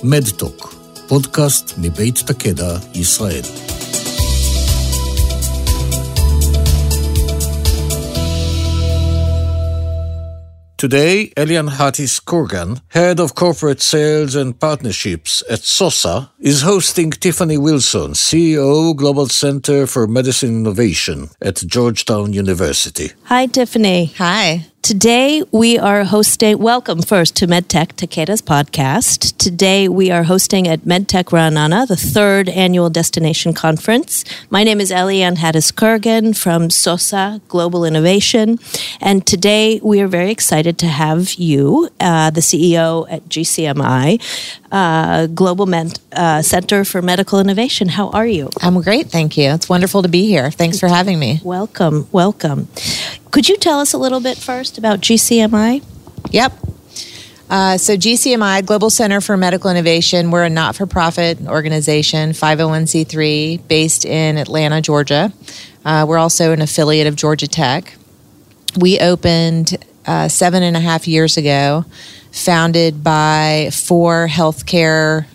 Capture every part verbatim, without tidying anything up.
מדטוק, פודקאסט מבית תקדע, ישראל. Today, Elian Hattis-Kurgan, Head of Corporate Sales and Partnerships at SOSA, is hosting Tiffany Wilson, C E O, Global Center for Medicine Innovation at Georgetown University. Hi, Tiffany. Hi. Today we are hosting, welcome first to MedTech Takeda's podcast. Today we are hosting at MedTech Ra'anana, the third annual destination conference. My name is Elian Hattis-Kurgan from SOSA Global Innovation. And today we are very excited to have you, uh, the C E O at G C M I, uh, Global Med- uh, Center for Medical Innovation. How are you? I'm great, thank you. It's wonderful to be here. Thanks for having me. Welcome, welcome. Could you tell us a little bit first about G C M I? Yep. Uh, so G C M I, Global Center for Medical Innovation, we're a not-for-profit organization, five oh one c three, based in Atlanta, Georgia. Uh, we're also an affiliate of Georgia Tech. We opened uh, seven and a half years ago, founded by four healthcare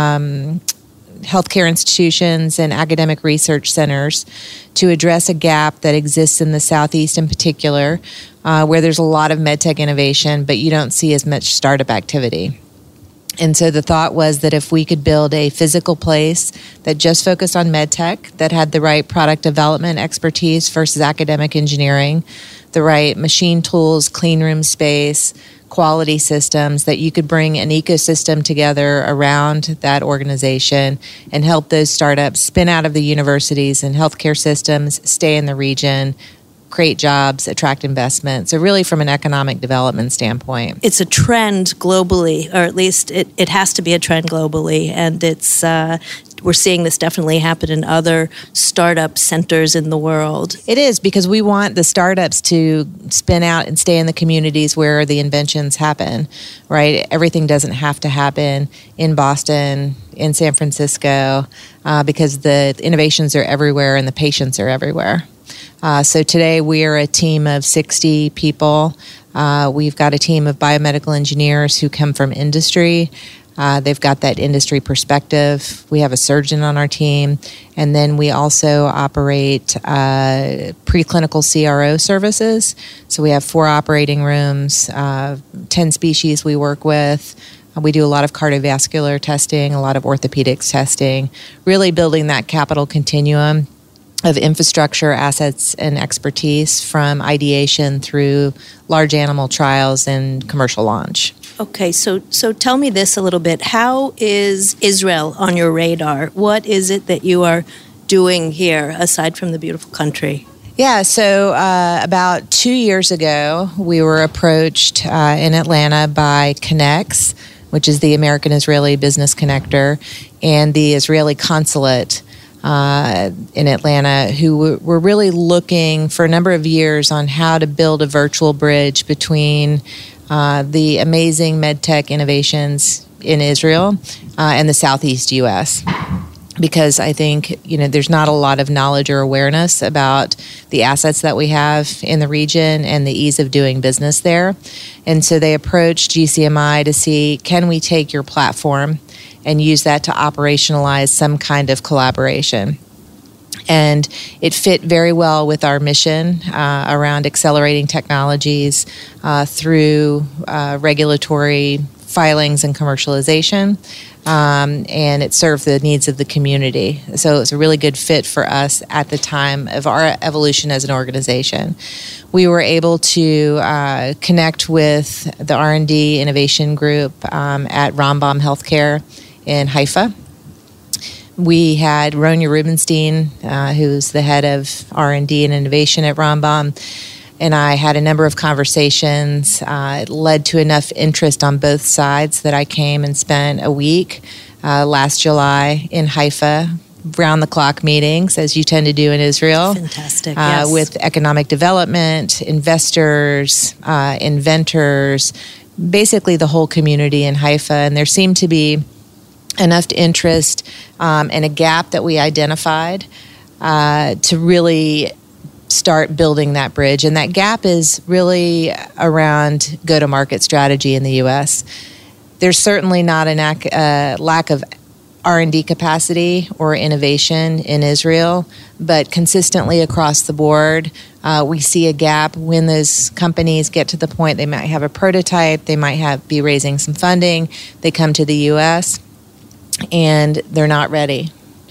um healthcare institutions and academic research centers to address a gap that exists in the Southeast in particular, uh, where there's a lot of medtech innovation, but you don't see as much startup activity. And so the thought was that if we could build a physical place that just focused on medtech, that had the right product development expertise versus academic engineering, the right machine tools, clean room space, quality systems, that you could bring an ecosystem together around that organization and help those startups spin out of the universities and healthcare systems, stay in the region, create jobs, attract investment. So really from an economic development standpoint. It's a trend globally, or at least it, it has to be a trend globally. And it's uh, we're seeing this definitely happen in other startup centers in the world. It is, because we want the startups to spin out and stay in the communities where the inventions happen, right? Everything doesn't have to happen in Boston, in San Francisco, uh, because the innovations are everywhere and the patients are everywhere. Uh, so today we are a team of sixty people. Uh, we've got a team of biomedical engineers who come from industry. Uh, they've got that industry perspective. We have a surgeon on our team. And then we also operate uh, preclinical C R O services. So we have four operating rooms, uh, ten species we work with. We do a lot of cardiovascular testing, a lot of orthopedics testing, really building that capital continuum of infrastructure, assets, and expertise from ideation through large animal trials and commercial launch. Okay, so so tell me this a little bit. How is Israel on your radar? What is it that you are doing here, aside from the beautiful country? Yeah, so uh, about two years ago, we were approached uh, in Atlanta by Connex, which is the American-Israeli Business Connector, and the Israeli Consulate Uh, in Atlanta, who were really looking for a number of years on how to build a virtual bridge between uh, the amazing medtech innovations in Israel uh, and the Southeast U S Because I think, you know, there's not a lot of knowledge or awareness about the assets that we have in the region and the ease of doing business there. And so they approached G C M I to see, can we take your platform and use that to operationalize some kind of collaboration. And it fit very well with our mission uh, around accelerating technologies uh, through uh, regulatory filings and commercialization. Um, and it served the needs of the community. So it's a really good fit for us at the time of our evolution as an organization. We were able to uh, connect with the R and D innovation group um, at Rambam Healthcare in Haifa. We had Ronya Rubenstein, uh, who's the head of R and D and innovation at Rambam, and I had a number of conversations. Uh, it led to enough interest on both sides that I came and spent a week uh, last July in Haifa, round-the-clock meetings, as you tend to do in Israel. Fantastic, uh, yes. With economic development, investors, uh, inventors, basically the whole community in Haifa. And there seemed to be enough interest um, and a gap that we identified uh, to really start building that bridge. And that gap is really around go-to-market strategy in the U S there's certainly not a uh, lack of R and D capacity or innovation in Israel, but consistently across the board, uh, we see a gap when those companies get to the point they might have a prototype, they might have be raising some funding, they come to the U S and they're not ready.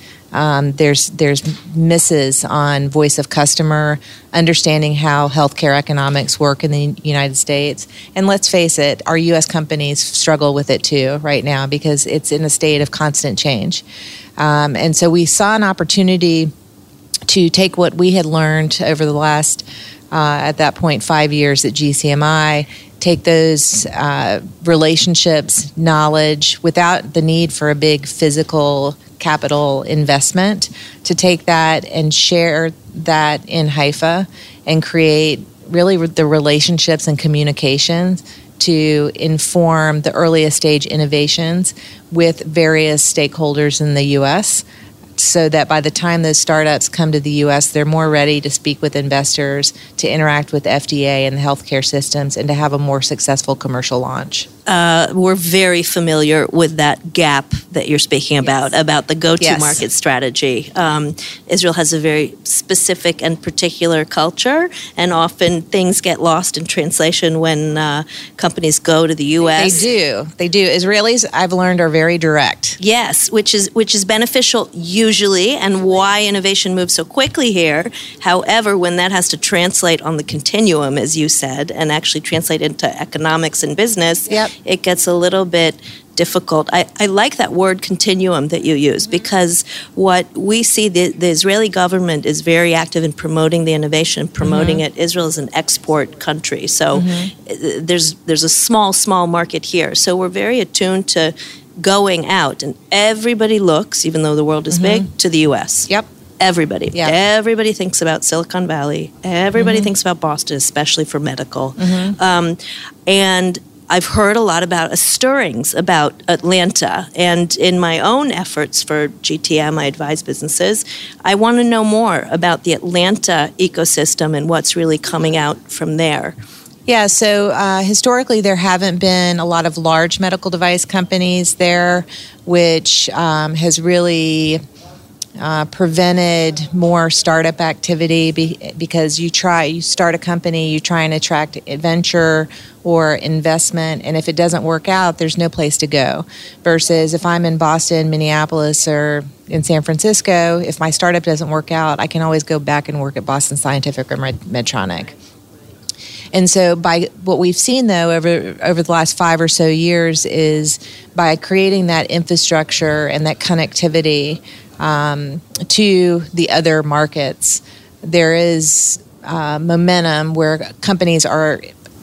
Um, there's there's misses on voice of customer, understanding how healthcare economics work in the United States. And let's face it, our U S companies struggle with it too right now because it's in a state of constant change. Um, and so we saw an opportunity to take what we had learned over the last, uh, at that point, five years at G C M I, take those uh, relationships, knowledge, without the need for a big physical capital investment, to take that and share that in Haifa and create really the relationships and communications to inform the earliest stage innovations with various stakeholders in the U S, so that by the time those startups come to the U S, they're more ready to speak with investors, to interact with F D A and the healthcare systems, and to have a more successful commercial launch. Uh, we're very familiar with that gap that you're speaking about, yes. about the go-to-market yes. strategy. Um, Israel has a very specific and particular culture, and often things get lost in translation when uh, companies go to the U S. They do. They do. Israelis, I've learned, are very direct. Yes, which is which is beneficial usually, and why innovation moves so quickly here. However, when that has to translate on the continuum, as you said, and actually translate into economics and business, yep. it gets a little bit difficult. I, I like that word continuum that you use, because what we see, the, the Israeli government is very active in promoting the innovation, promoting mm-hmm. it. Israel is an export country, so mm-hmm. there's there's a small, small market here. So we're very attuned to going out, and everybody looks, even though the world is mm-hmm. big, to the U S. Yep. Everybody. Yep. Everybody thinks about Silicon Valley. Everybody mm-hmm. thinks about Boston, especially for medical. Mm-hmm. Um, and I've heard a lot about uh, stirrings about Atlanta, and in my own efforts for G T M, I advise businesses, I want to know more about the Atlanta ecosystem and what's really coming out from there. Yeah, so uh, historically there haven't been a lot of large medical device companies there, which um, has really uh, prevented more startup activity be- because you try, you start a company, you try and attract venture or investment, and if it doesn't work out, there's no place to go. Versus if I'm in Boston, Minneapolis, or in San Francisco, if my startup doesn't work out, I can always go back and work at Boston Scientific or Medtronic. And so by what we've seen, though, over over the last five or so years is by creating that infrastructure and that connectivity um, to the other markets, there is uh, momentum where companies are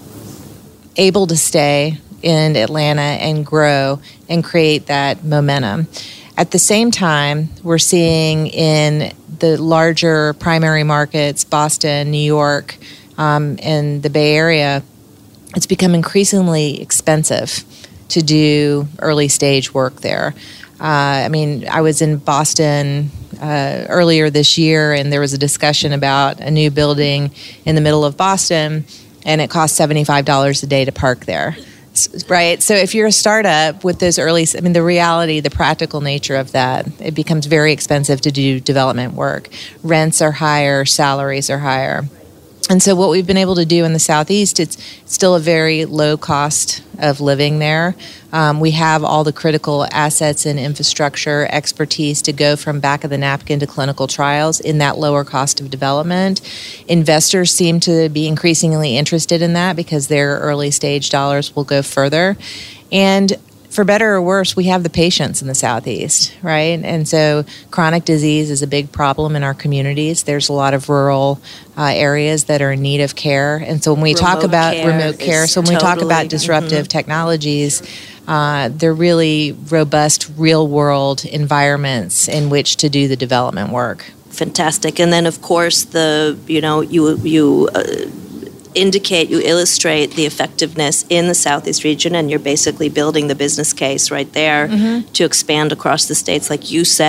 able to stay in Atlanta and grow and create that momentum. At the same time, we're seeing in the larger primary markets, Boston, New York, Um, in the Bay Area, it's become increasingly expensive to do early stage work there. Uh, I mean, I was in Boston uh, earlier this year, and there was a discussion about a new building in the middle of Boston, and it costs seventy-five dollars a day to park there. Right? So if you're a startup with those early, I mean, the reality, the practical nature of that, it becomes very expensive to do development work. Rents are higher, salaries are higher. And so what we've been able to do in the Southeast, it's still a very low cost of living there. Um, we have all the critical assets and infrastructure expertise to go from back of the napkin to clinical trials in that lower cost of development. Investors seem to be increasingly interested in that because their early stage dollars will go further. And for better or worse, we have the patients in the Southeast, right? And so chronic disease is a big problem in our communities. There's a lot of rural uh, areas that are in need of care. And so when we remote talk about care remote care, so when totally, we talk about disruptive mm-hmm. technologies, uh, they're really robust real-world environments in which to do the development work. Fantastic. And then, of course, the, you know, you, you, uh, indicate, you illustrate the effectiveness in the Southeast region, and you're basically building the business case right there mm-hmm. to expand across the states. Like you said,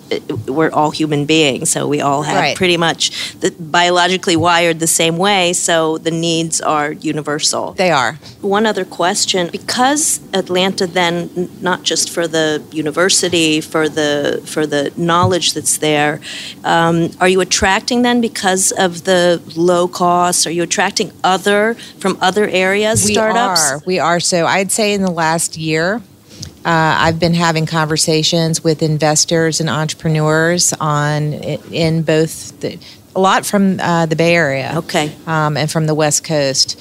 we're all human beings, so we all have Right. pretty much the, biologically wired the same way, so the needs are universal. They are. One other question, because Atlanta then, n- not just for the university, for the for the knowledge that's there, um, are you attracting then, because of the low costs, are you attracting other, from other areas, We startups? are. We are. So I'd say in the last year, uh, I've been having conversations with investors and entrepreneurs on in both the, a lot from uh, the Bay Area, Okay. um, and from the West Coast,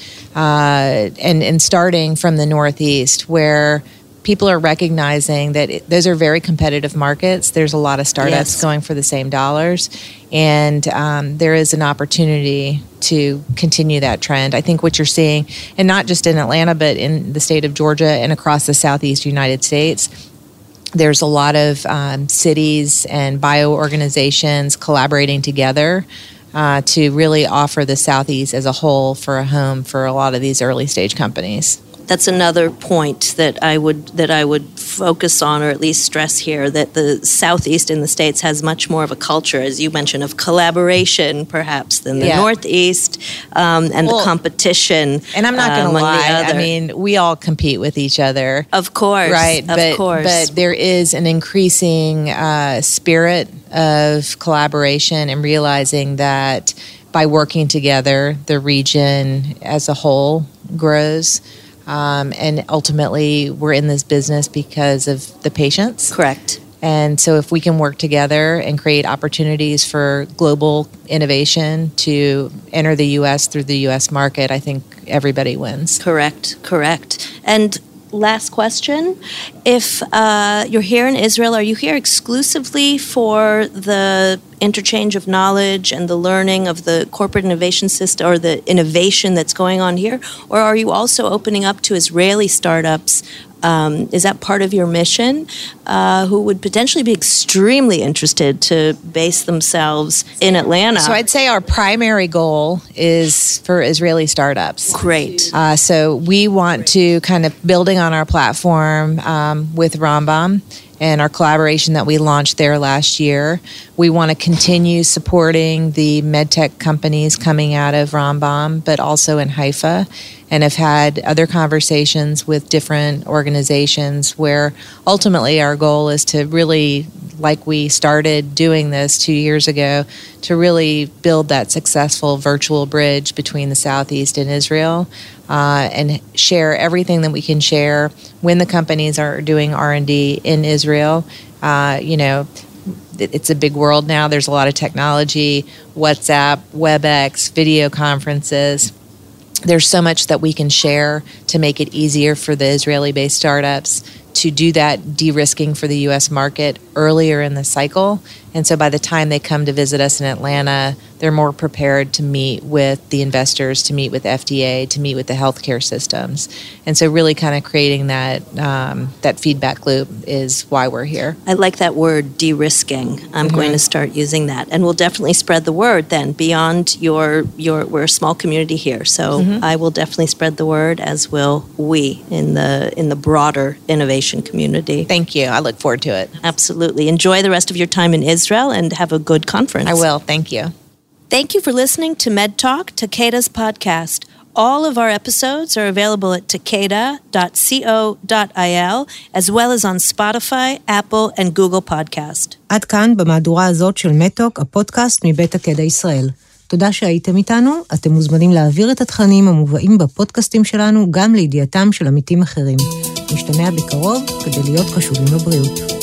uh, and and starting from the Northeast, where people are recognizing that it, those are very competitive markets. There's a lot of startups Yes. going for the same dollars, and um, there is an opportunity to continue that trend. I think what you're seeing, and not just in Atlanta, but in the state of Georgia and across the Southeast United States, there's a lot of um, cities and bio organizations collaborating together uh, to really offer the Southeast as a whole for a home for a lot of these early stage companies. That's another point that I would that I would focus on, or at least stress here, that the Southeast in the States has much more of a culture, as you mentioned, of collaboration, perhaps, than the Yeah. Northeast, um, and Well, the competition. And I'm not uh, going to among the lie. I other. mean, we all compete with each other. Of course, Right, Of but, course, but there is an increasing uh, spirit of collaboration and realizing that by working together, the region as a whole grows. Um, and ultimately, we're in this business because of the patients. correct. And so if we can work together and create opportunities for global innovation to enter the U S through the U S market, I think everybody wins. Correct, correct. And last question. If uh, you're here in Israel, are you here exclusively for the interchange of knowledge and the learning of the corporate innovation system, or the innovation that's going on here? Or are you also opening up to Israeli startups? Um, is that part of your mission? Uh, who would potentially be extremely interested to base themselves in Atlanta? So I'd say our primary goal is for Israeli startups. Great. Uh, so we want to kind of building on our platform um, with Rambam and our collaboration that we launched there last year. We want to continue supporting the medtech companies coming out of Rambam, but also in Haifa, and have had other conversations with different organizations where ultimately our goal is to really, like we started doing this two years ago, to really build that successful virtual bridge between the Southeast and Israel, uh, and share everything that we can share when the companies are doing R and D in Israel. Uh, you know, it- it's a big world now. There's a lot of technology, WhatsApp, WebEx, video conferences. There's so much that we can share to make it easier for the Israeli-based startups to do that de-risking for the U S market earlier in the cycle. And so by the time they come to visit us in Atlanta, they're more prepared to meet with the investors, to meet with F D A, to meet with the healthcare systems. And so really kind of creating that um, that feedback loop is why we're here. I like that word, de-risking. I'm going to start using that, and we'll definitely spread the word then beyond your your. We're a small community here, so I will definitely spread the word, as will we in the in the broader innovation community. Thank you. I look forward to it. Absolutely. Enjoy the rest of your time in Israel and have a good conference. I will. Thank you. Thank you for listening to MedTalk, Takeda's podcast. All of our episodes are available at takeda dot co dot il, as well as on Spotify, Apple, and Google Podcast. עד כאן במהדורה הזאת של מדטוק, הפודקאסט מבית תקדה ישראל. תודה שהייתם איתנו, אתם מוזמנים להעביר את התכנים המובאים בפודקאסטים שלנו גם לידיעתם של עמיתים אחרים. נשתמע בקרוב כדי להיות קשובים לבריאות.